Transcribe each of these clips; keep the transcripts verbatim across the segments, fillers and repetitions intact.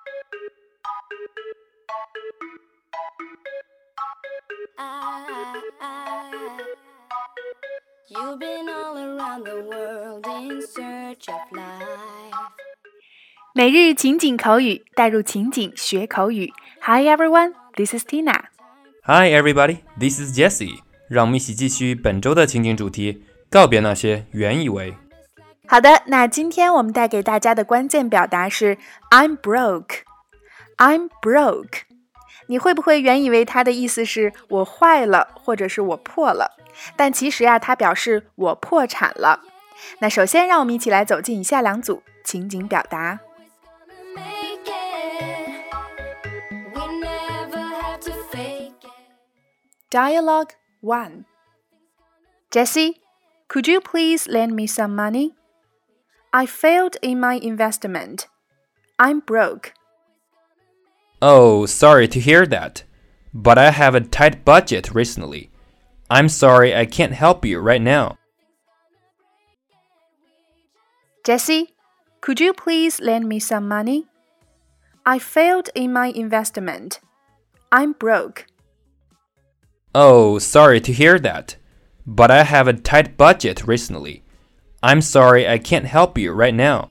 You've been all around the world in search of life. 每日情景口语，带入情景学口语。Hi everyone, this is Tina. Hi everybody, this is Jessie. 让我们一起继续本周的情景主题，告别那些原以为。 好的，那今天我们带给大家的关键表达是 I'm broke. I'm broke. 你会不会原以为它的意思是我坏了，或者是我破了？但其实啊，它表示我破产了。那首先让我们一起来走进以下两组情景表达。Dialogue one. Jessie, could you please lend me some money? I failed in my investment. I'm broke. Oh, sorry to hear that. But I have a tight budget recently. I'm sorry I can't help you right now. Jessie, could you please lend me some money? I failed in my investment. I'm broke. Oh, sorry to hear that. But I have a tight budget recently. I'm sorry I can't help you right now.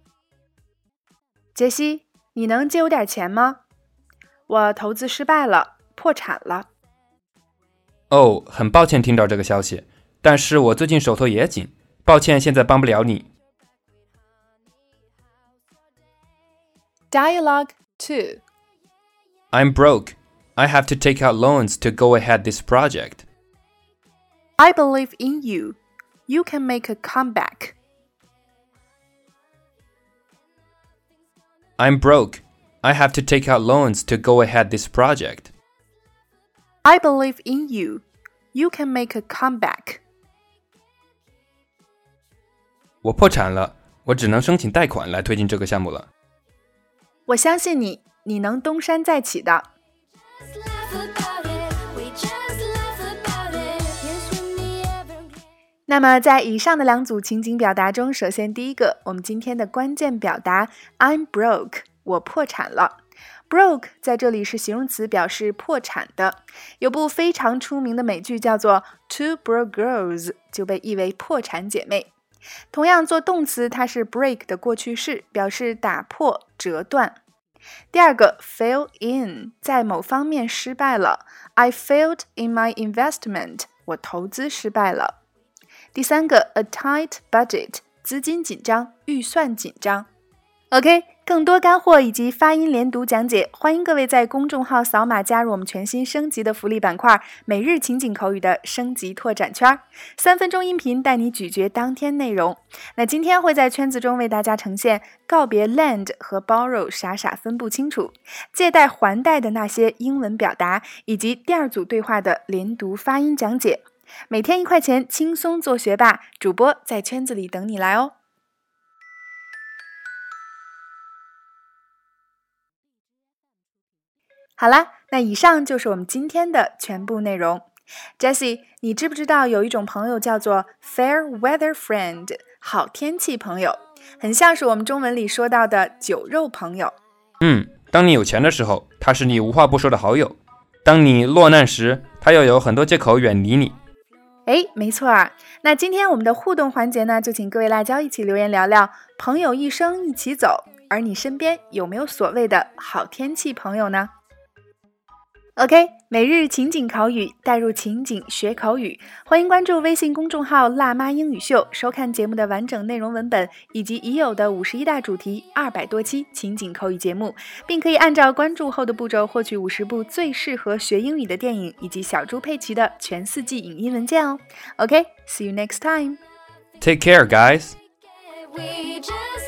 杰西，你能借我点钱吗？我投资失败了，破产了。 哦，很抱歉听到这个消息，但是我最近手头也紧，抱歉现在帮不了你。 Dialogue two. I'm broke. I have to take out loans to go ahead this project. I believe in you. You can make a comeback. I'm broke. I have to take out loans to go ahead this project. I believe in you. You can make a comeback. 我破产了，我只能申请贷款来推进这个项目了。 我相信你，你能东山再起的。那么在以上的两组情景表达中，首先第一个，我们今天的关键表达 I'm broke， 我破产了。Broke 在这里是形容词，表示破产的。有部非常出名的美剧叫做 Two Broke Girls， 就被译为破产姐妹。同样做动词，它是 break 的过去式，表示打破、折断。第二个 fail in， 在某方面失败了。I failed in my investment， 我投资失败了。第三个 a tight budget， 资金紧张，预算紧张。OK， 更多干货以及发音连读讲解，欢迎各位在公众号扫码加入我们全新升级的福利板块每日情景口语的升级拓展圈，三分钟音频带你咀嚼当天内容。那今天会在圈子中为大家呈现告别 lend 和 borrow 傻傻分不清楚，借贷还贷的那些英文表达，以及第二组对话的连读发音讲解。每天一块钱，轻松做学霸，主播在圈子里等你来哦。好啦，那以上就是我们今天的全部内容。Jessie， 你知不知道有一种朋友叫做 fair weather friend， 好天气朋友，很像是我们中文里说到的酒肉朋友。 嗯，当你有钱的时候，他是你无话不说的好友；当你落难时，他又有很多借口远离你。 哎，没错啊。那今天我们的互动环节呢，就请各位辣椒一起留言聊聊朋友一生一起走，而你身边有没有所谓的好天气朋友呢？ OK， 每日情景口语，带入情景学口语，欢迎关注微信公众号辣妈英语秀，收看节目的完整内容文本，以及已有的五十一大主题二百多期情景口语节目，并可以按照关注后的步骤获取五十部最适合学英语的电影，以及小猪佩奇的全四季影音文件哦。OK，see you next time. Take care, guys. We just